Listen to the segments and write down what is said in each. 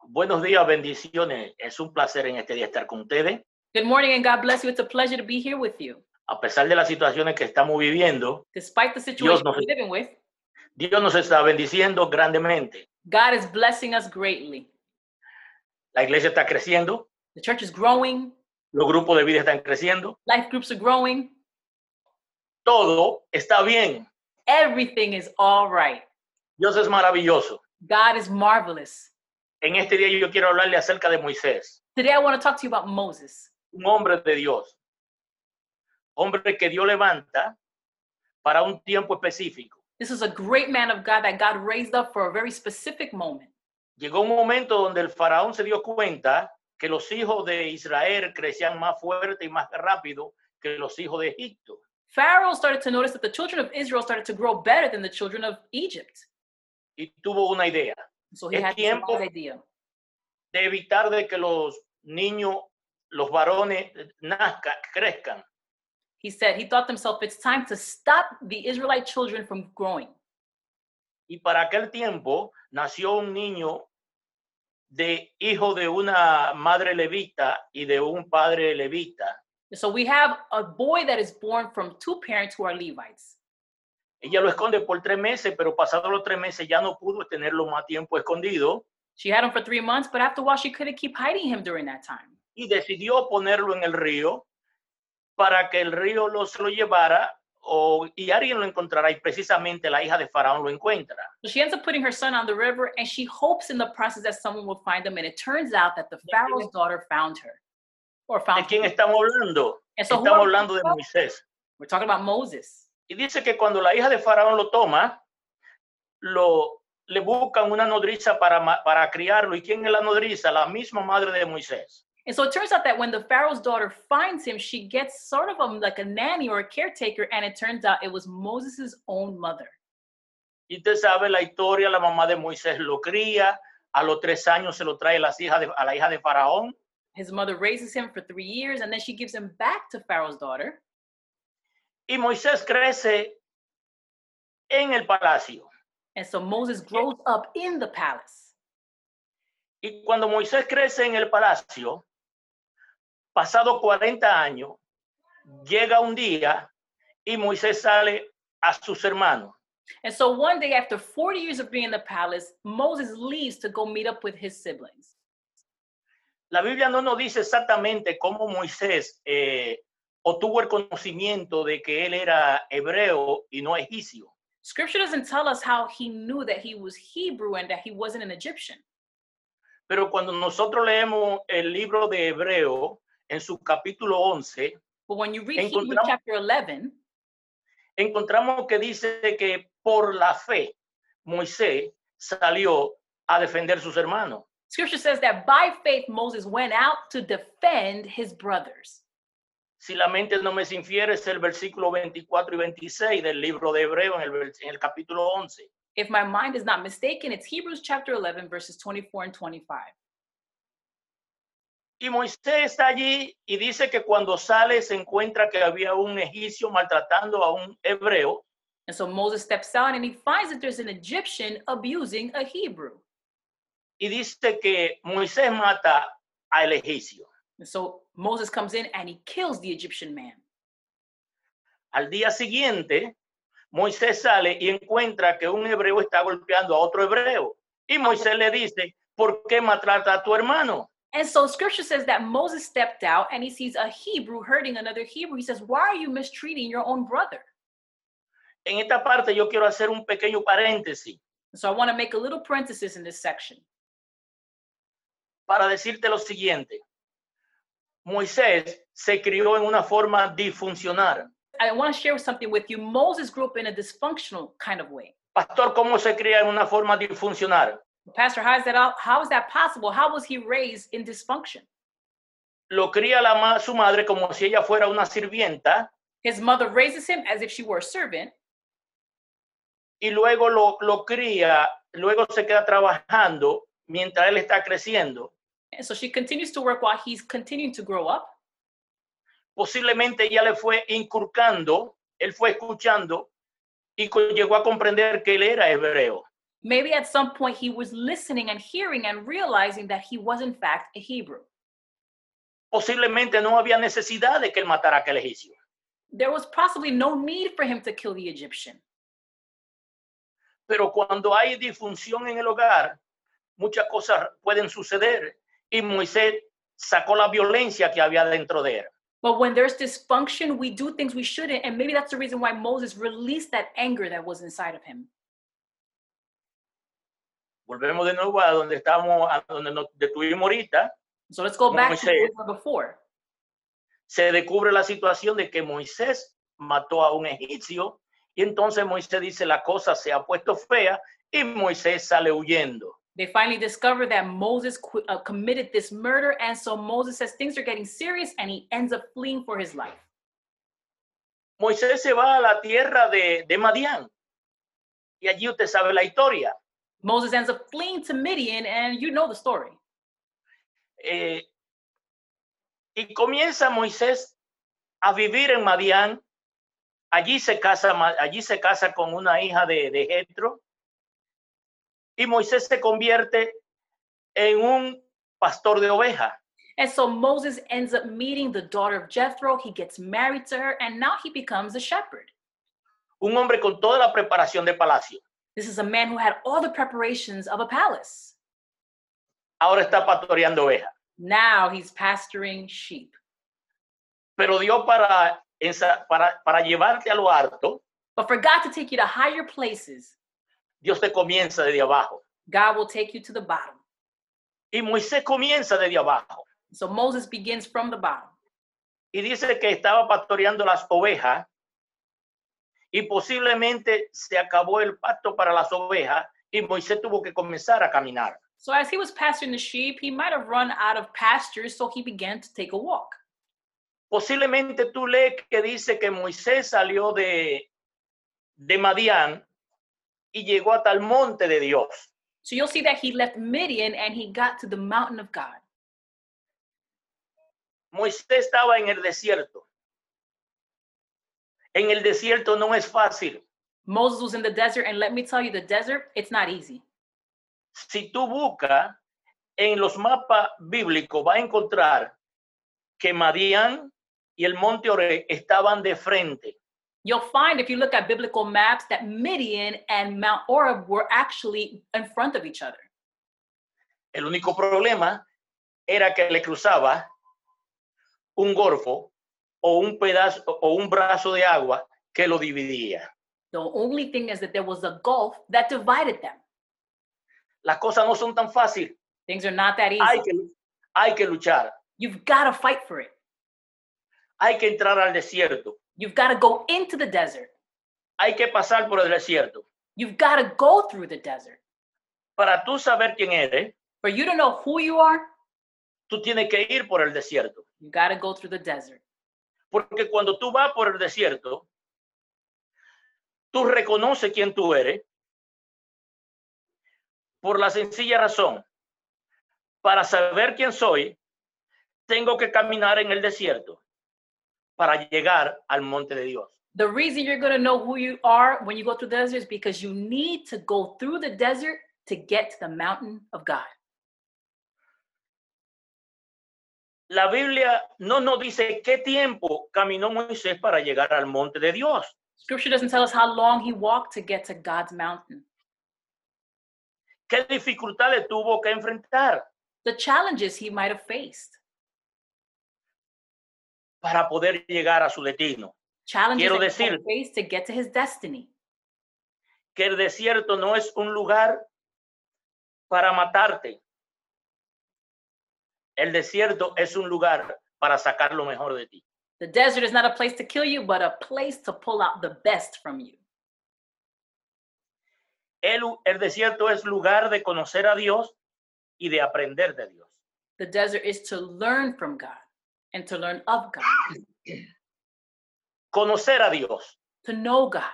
Buenos días, bendiciones. Es un placer en este día estar con ustedes. Good morning and God bless you. It's a pleasure to be here with you. A pesar de las situaciones que estamos viviendo, Despite the situation we're living with, Dios nos está bendiciendo grandemente. God is blessing us greatly. La iglesia está creciendo, The church is growing, los grupos de vida están creciendo, life groups are growing, todo está bien. everything is all right. Dios es maravilloso. God is marvelous. En este día yo quiero hablarle acerca de Moisés, Today I want to talk to you about Moses, un hombre de Dios, hombre que Dios levanta para un tiempo específico. This is a great man of God that God raised up for a very specific moment. Llegó un momento donde el faraón se dio cuenta que los hijos de Israel crecían más fuerte y más rápido que los hijos de Egipto. Pharaoh started to notice that the children of Israel started to grow better than the children of Egypt. Y tuvo una idea. So he Es had this tiempo wise idea. de evitar de que los niños, los varones crezcan. He thought to himself, it's time to stop the Israelite children from growing. Y para aquel tiempo nació un niño de hijo de una madre levita y de un padre levita. So we have a boy that is born from two parents who are Levites. Ella lo esconde por 3 meses, pero pasados los 3 meses ya no pudo tenerlo más tiempo escondido She had him for 3 months, but after a while she couldn't keep hiding him during that time. y decidió ponerlo en el río para que el río se lo llevara y alguien lo encontrará, y precisamente la hija de Faraón lo encuentra. So she ends up putting her son on the river, and she hopes in the process that someone will find him. And it turns out that the Pharaoh's daughter found her. Or ¿De found quién him. estamos hablando? And so who Estamos are we hablando de talking about? Moisés. We're talking about Moses. Y dice que cuando la hija de Faraón lo toma, le buscan una nodriza para criarlo. ¿Y quién es la nodriza? La misma madre de Moisés. And so it turns out that when the Pharaoh's daughter finds him, she gets sort of like a nanny or a caretaker, and it turns out it was Moses's own mother. Y usted sabe la historia, la mamá de Moisés lo cría, a los 3 años se lo trae a la hija de Faraón. His mother raises him for 3 years, and then she gives him back to Pharaoh's daughter. Y Moisés crece en el palacio. And so Moses grows up in the palace. Y cuando Moisés crece en el palacio, pasado 40 años, llega un día y Moisés sale a sus hermanos. And so one day, after 40 years of being in the palace, Moses leaves to go meet up with his siblings. La Biblia no nos dice exactamente cómo Moisés obtuvo el conocimiento de que él era hebreo y no egipcio. Scripture doesn't tell us how he knew that he was Hebrew and that he wasn't an Egyptian. Pero cuando nosotros leemos el libro de Hebreo, en su capítulo 11, But when you read Hebrews chapter 11, encontramos que dice que por la fe Moisés salió a defender a sus hermanos. Scripture says that by faith Moses went out to defend his brothers. Si la mente no me se infiere, es el versículo 24 y 26 del libro de Hebreo en el capítulo 11. If my mind is not mistaken, it's Hebrews chapter 11, verses 24 and 25. Y Moisés está allí y dice que cuando sale se encuentra que había un egipcio maltratando a un hebreo. And so Moses steps out and he finds that there's an Egyptian abusing a Hebrew. Y dice que Moisés mata al egipcio. And so Moses comes in and he kills the Egyptian man. Al día siguiente, Moisés sale y encuentra que un hebreo está golpeando a otro hebreo. Y Moisés le dice, ¿por qué maltrata a tu hermano? And so scripture says that Moses stepped out and he sees a Hebrew hurting another Hebrew. He says, why are you mistreating your own brother? En esta parte yo quiero hacer un pequeño paréntesis So I want to make a little parenthesis in this section para decirte lo siguiente. Moisés se crió en una forma disfuncional. I want to share something with you. Moses grew up in a dysfunctional kind of way. Pastor, ¿cómo se cría en una forma disfuncional? Pastor, how is that possible? How was he raised in dysfunction? Lo cría su madre como si ella fuera una sirvienta. His mother raises him as if she were a servant. Y luego lo cría, luego se queda trabajando mientras él está creciendo. And so she continues to work while he's continuing to grow up. Posiblemente ella le fue inculcando, él fue escuchando y llegó a comprender que él era hebreo. Maybe at some point he was listening and hearing and realizing that he was in fact a Hebrew. Posiblemente no había necesidad de que él matara a aquel egipcio. There was possibly no need for him to kill the Egyptian. Pero cuando hay disfunción en el hogar, muchas cosas pueden suceder y Moisés sacó la violencia que había dentro de él. But when there's dysfunction, we do things we shouldn't, and maybe that's the reason why Moses released that anger that was inside of him. Volvemos de nuevo a donde estábamos, a donde nos detuvimos ahorita. So let's go back to Moisés. where we were before. Se descubre la situación de que Moisés mató a un egipcio y entonces Moisés dice la cosa se ha puesto fea y Moisés sale huyendo. They finally discover that Moses committed this murder, and so Moses says things are getting serious, and he ends up fleeing for his life. Moisés se va a la tierra de Madián y allí usted sabe la historia. Moses ends up fleeing to Midian, and you know the story. Y comienza Moisés a vivir en Madián. Allí se casa con una hija de Jetro. Y Moisés se convierte en un pastor de ovejas. And so Moses ends up meeting the daughter of Jethro. He gets married to her, and now he becomes a shepherd. Un hombre con toda la preparación de palacio. This is a man who had all the preparations of a palace. Ahora está pastoreando ovejas. Now he's pasturing sheep. Pero Dios para llevarte a lo alto, But for God to take you to higher places, Dios te comienza desde abajo. God will take you to the bottom. Y Moisés comienza desde abajo. So Moses begins from the bottom. Y dice que estaba pastoreando las ovejas y posiblemente se acabó el pasto para las ovejas y Moisés tuvo que comenzar a caminar. So as he was pasturing the sheep, he might have run out of pastures, so he began to take a walk. Posiblemente tú lees que dice que Moisés salió de Madián y llegó hasta el monte de Dios. So you'll see that he left Midian and he got to the mountain of God. Moisés estaba en el desierto. En el desierto no es fácil. Moses was in the desert, and let me tell you, the desert, it's not easy. Si tú buscas en los mapas bíblicos, vas a encontrar que Madián y el monte Oreb estaban de frente. You'll find, if you look at biblical maps, that Midian and Mount Oreb were actually in front of each other. El único problema era que le cruzaba un golfo o un pedazo o un brazo de agua que lo dividía. The only thing is that there was a gulf that divided them. Las cosas no son tan fáciles. Things are not that easy. Hay que luchar. You've got to fight for it. Hay que entrar al desierto. You've got to go into the desert. Hay que pasar por el desierto. You've got to go through the desert. Para tú saber quién eres, For you to know who you are, tú tienes que ir por el desierto. you got to go through the desert. Porque cuando tú vas por el desierto, tú reconoces quién tú eres por la sencilla razón. Para saber quién soy, tengo que caminar en el desierto para llegar al monte de Dios. The reason you're going to know who you are when you go through the desert is because you need to go through the desert to get to the mountain of God. La Biblia no nos dice qué tiempo caminó Moisés para llegar al monte de Dios. Scripture doesn't tell us how long he walked to get to God's mountain. ¿Qué dificultades tuvo que enfrentar The challenges he might have faced. para poder llegar a su destino? Challenges Quiero that he might decir- have faced to get to his destiny. Que el desierto no es un lugar para matarte. El desierto es un lugar para sacar lo mejor de ti. The desert is not a place to kill you, but a place to pull out the best from you. El desierto es lugar de conocer a Dios y de aprender de Dios. The desert is to learn from God and to learn of God, Conocer a Dios. to know God.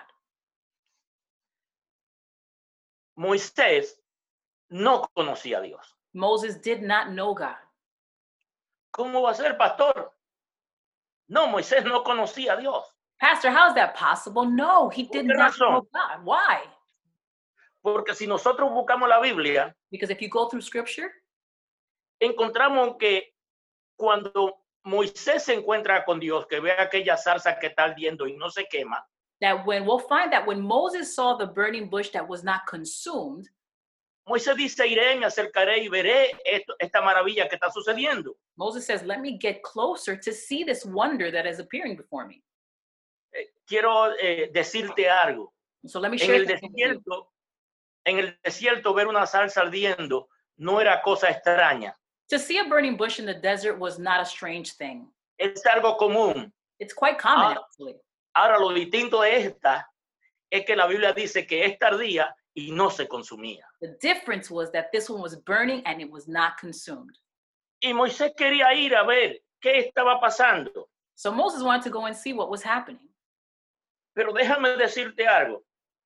Moisés no conocía a Dios. Moses did not know God. ¿Cómo va a ser, pastor? No, Moisés no conocía a Dios. Pastor, how is that possible? No, he did qué not razón? know God. Why? Porque si nosotros buscamos la Biblia, Because if you go through scripture, encontramos que cuando Moisés se encuentra con Dios, que ve aquella zarza que está ardiendo y no se quema, that we'll find that when Moses saw the burning bush that was not consumed, Moisés dice, iré, me acercaré y veré esta maravilla que está sucediendo. Moses says, let me get closer to see this wonder that is appearing before me. Quiero decirte algo. So let me En share el something with you. desierto ver una zarza ardiendo no era cosa extraña. To see a burning bush in the desert was not a strange thing. Es algo común. It's quite common, actually. Ahora, lo distinto de esta es que la Biblia dice que esta ardía y no se consumía. The difference was that this one was burning and it was not consumed. Y Moisés quería ir a ver qué estaba pasando. So Moses wanted to go and see what was happening. Pero déjame decirte algo.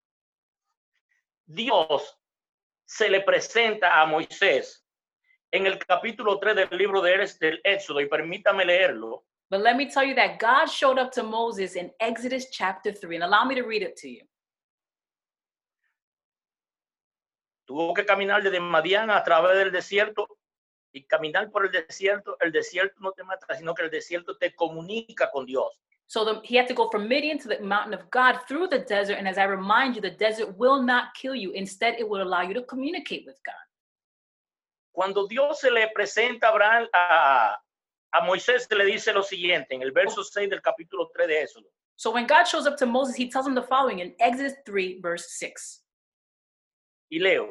Dios se le presenta a Moisés en el capítulo 3 del libro del Éxodo, y permítame leerlo. But let me tell you that God showed up to Moses in Exodus chapter 3, and allow me to read it to you. Tuvo que caminar desde Madián a través del desierto, y caminar por el desierto no te mata, sino que el desierto te comunica con Dios. So he had to go from Midian to the mountain of God through the desert. And as I remind you, the desert will not kill you. Instead, it will allow you to communicate with God. Cuando Dios se le presenta a Moisés, se le dice lo siguiente en el verso 6 del capítulo 3 de Éxodo. So when God shows up to Moses, he tells him the following in Exodus 3, verse 6. Y leo.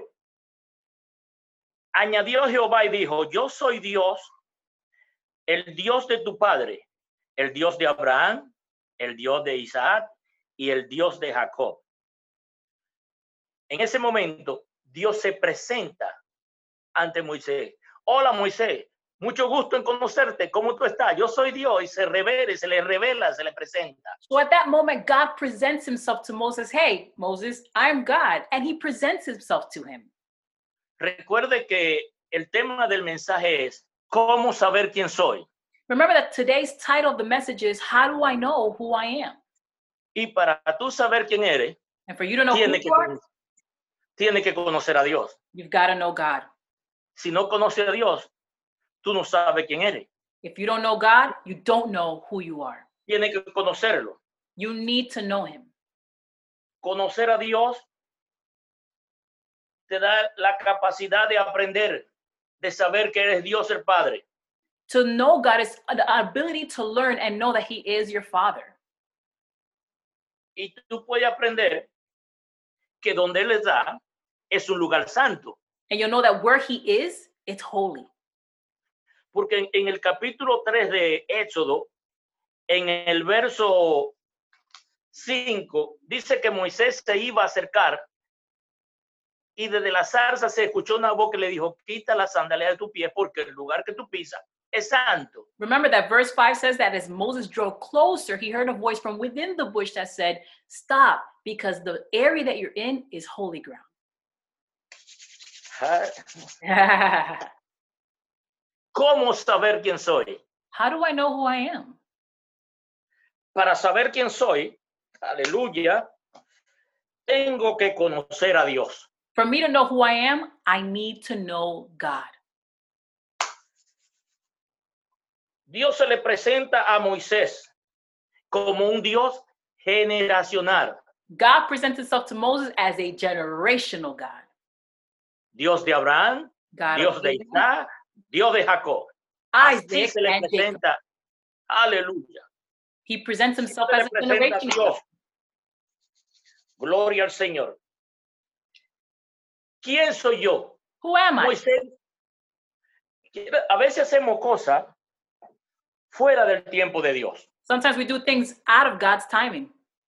Añadió Jehová y dijo, yo soy Dios, el Dios de tu padre, el Dios de Abraham, el Dios de Isaac y el Dios de Jacob. En ese momento, Dios se presenta ante Moisés. Hola, Moisés, mucho gusto en conocerte. ¿Cómo tú estás? Yo soy Dios, y se le revela, se le presenta. So at that moment, God presents himself to Moses. Hey, Moses, I'm God. And he presents himself to him. Recuerde que el tema del mensaje es ¿cómo saber quién soy? Remember that today's title of the message is, How do I know who I am? Y para tú saber quién eres, And for you to know who you are, tienes que conocer a Dios. you've got to know God. Si no conoces a Dios, tú no sabes quién eres. If you don't know God, you don't know who you are. Tienes que conocerlo. You need to know him. Conocer a Dios te da la capacidad de aprender, de saber que eres Dios el Padre. To know God is the ability to learn and know that he is your father. Y tú puedes aprender que donde Él está es un lugar santo. And you'll know that where he is, it's holy. Porque en el capítulo 3 de Éxodo, en el verso 5, dice que Moisés se iba a acercar y desde la zarza se escuchó una voz que le dijo, quita la sandalia de tu pie porque el lugar que tú pisas es santo. Remember that verse 5 says that as Moses drew closer, he heard a voice from within the bush that said, stop, because the area that you're in is holy ground. ¿Cómo saber quién soy? How do I know who I am? Para saber quién soy, aleluya, tengo que conocer a Dios. For me to know who I am, I need to know God. Dios se le presenta a Moisés como un Dios generacional. God presents himself to Moses as a generational God. Dios de Abraham, God Dios of de Abraham, Isaac, Dios de Jacob. Así Isaac, se le and Jacob. presenta. Aleluya. He presents himself Se as le a presenta a generational Dios. God. Gloria al Señor. ¿Quién soy yo? Who am I? Moisés. A veces hacemos cosas fuera del tiempo de Dios. Sometimes we do things out of God's timing.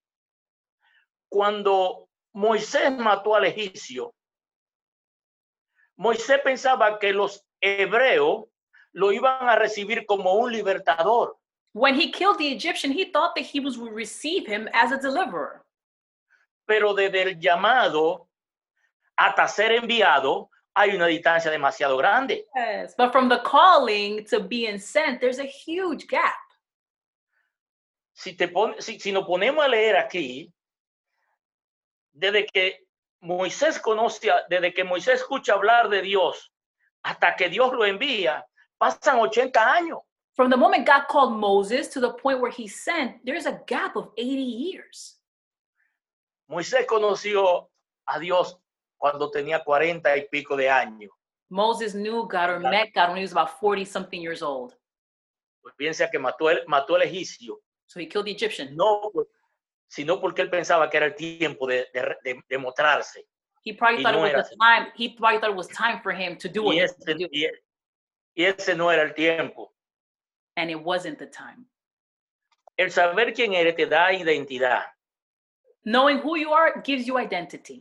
Cuando Moisés mató al egipcio, Moisés pensaba que los hebreos lo iban a recibir como un libertador. When he killed the Egyptian, he thought the Hebrews would receive him as a deliverer. Pero desde el llamado hasta ser enviado hay una distancia demasiado grande. Yes, but from the calling to being sent, there's a huge gap. Si nos ponemos a leer aquí, desde que Moisés conoce, desde que Moisés escucha hablar de Dios hasta que Dios lo envía, pasan 80 años. From the moment God called Moses to the point where he sent, there's a gap of 80 years. Moisés conoció a Dios cuando tenía 40 y pico de años. Moses knew God or met God when he was about 40 something years old. Pues piensa que mató al egipcio, So he killed the Egyptian. no, sino porque él pensaba que era el tiempo de mostrarse. He probably Y thought no it era was the time. He probably thought it was time for him to do what Y he had to do. ese no era el tiempo. And it wasn't the time. El saber quién eres te da identidad. Knowing who you are gives you identity.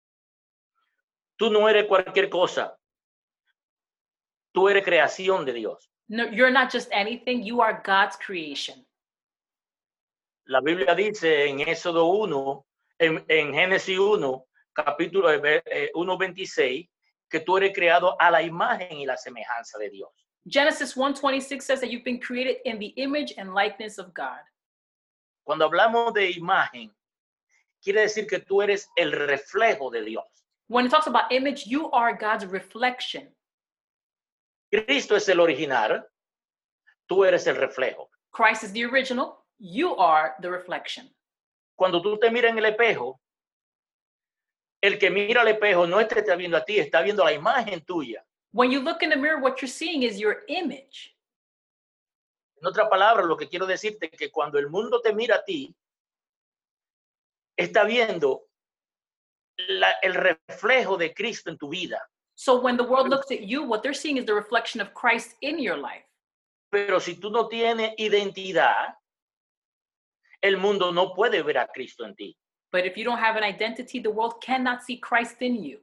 Tú no eres cualquier cosa. Tú eres creación de Dios. No, you're not just anything. You are God's creation. La Biblia dice en Éxodo 1, en Génesis 1, capítulo 1:26, que tú eres creado a la imagen y la semejanza de Dios. Genesis 1:26 says that you've been created in the image and likeness of God. Cuando hablamos de imagen, quiere decir que tú eres el reflejo de Dios. When it talks about image, you are God's reflection. Cristo es el original, tú eres el reflejo. Christ is the original. You are the reflection. Cuando tú te miras en el espejo, el que mira al espejo no te está viendo a ti, está viendo la imagen tuya. When you look in the mirror, what you're seeing is your image. En otras palabras, lo que quiero decirte es que cuando el mundo te mira a ti, está viendo el reflejo de Cristo en tu vida. So when the world looks at you, what they're seeing is the reflection of Christ in your life. Pero si tú no tienes identidad, el mundo no puede ver a Cristo en ti. But if you don't have an identity, the world cannot see Christ in you.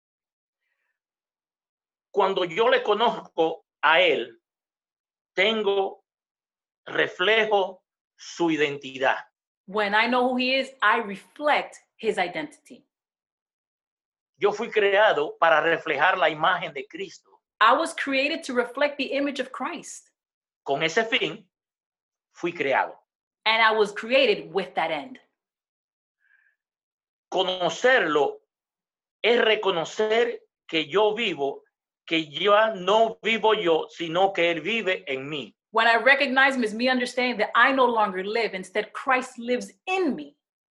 Cuando yo le conozco a Él, tengo reflejo su identidad. When I know who he is, I reflect his identity. Yo fui creado para reflejar la imagen de Cristo. I was created to reflect the image of Christ. Con ese fin, fui creado. And I was created with that end. Conocerlo es reconocer que yo vivo, que ya no vivo yo, sino que Él vive en mí. When I recognize him, is me understanding that I no longer live. Instead, Christ lives in me.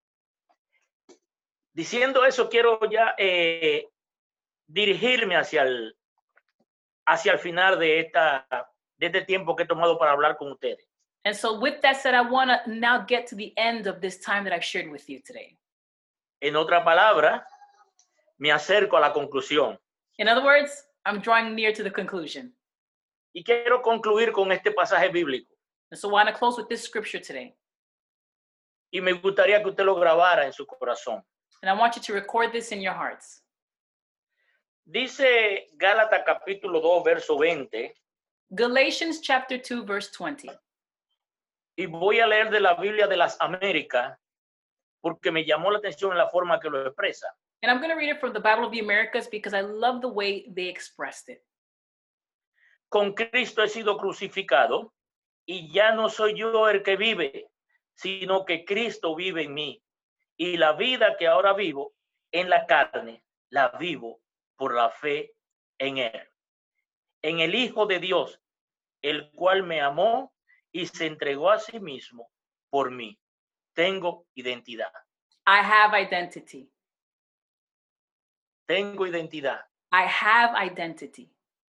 Diciendo eso, quiero ya dirigirme hacia el final de este tiempo que he tomado para hablar con ustedes. And so with that said, I want to now get to the end of this time that I've shared with you today. En otra palabra, me acerco a la conclusión. In other words, I'm drawing near to the conclusion. Y quiero concluir con este pasaje bíblico. And so I want to close with this scripture today. Y me gustaría que usted lo grabara en su corazón. And I want you to record this in your hearts. Dice Gálatas capítulo 2, verso 20. Galatians chapter 2, verse 20. Y voy a leer de la Biblia de las Américas porque me llamó la atención en la forma que lo expresa. And I'm going to read it from the Bible of the Americas because I love the way they expressed it. Con Cristo he sido crucificado y ya no soy yo el que vive, sino que Cristo vive en mí. Y la vida que ahora vivo en la carne, la vivo por la fe en Él. En el Hijo de Dios, el cual me amó y se entregó a sí mismo por mí. Tengo identidad. I have identity. Tengo identidad. I have identity.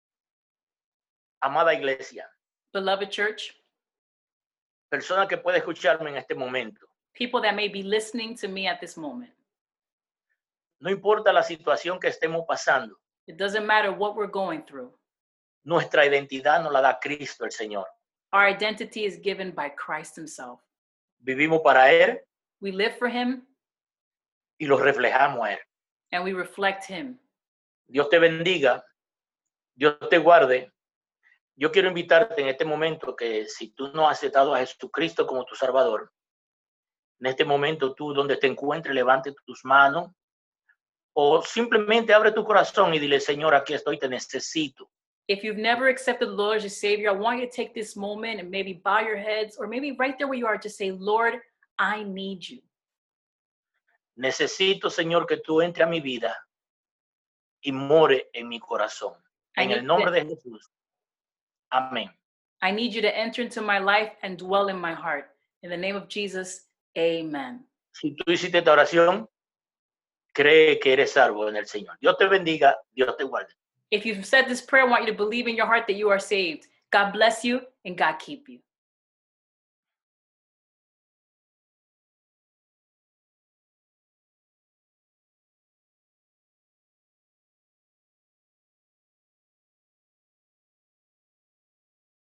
Amada iglesia, Beloved church, persona que puede escucharme en este momento. people that may be listening to me at this moment. No importa la situación que estemos pasando, It doesn't matter what we're going through. nuestra identidad nos la da Cristo el Señor. Our identity is given by Christ himself. Vivimos para Él We live for him y lo reflejamos a Él. and we reflect him. Dios te bendiga, Dios te guarde. Yo quiero invitarte en este momento que si tú no has aceptado a Jesucristo como tu Salvador, en este momento tú donde te encuentres, levante tus manos o simplemente abre tu corazón y dile, Señor, aquí estoy, te necesito. If you've never accepted the Lord as your Savior, I want you to take this moment and maybe bow your heads or maybe right there where you are, just say, Lord, I need you. necesito, Señor, que tú entres a mi vida y more en mi corazón. En el nombre de Jesús. Amén. I need you to enter into my life and dwell in my heart. In the name of Jesus, amen. Si tú hiciste esta oración, cree que eres salvo en el Señor. Dios te bendiga, Dios te guarde. If you've said this prayer, I want you to believe in your heart that you are saved. God bless you and God keep you.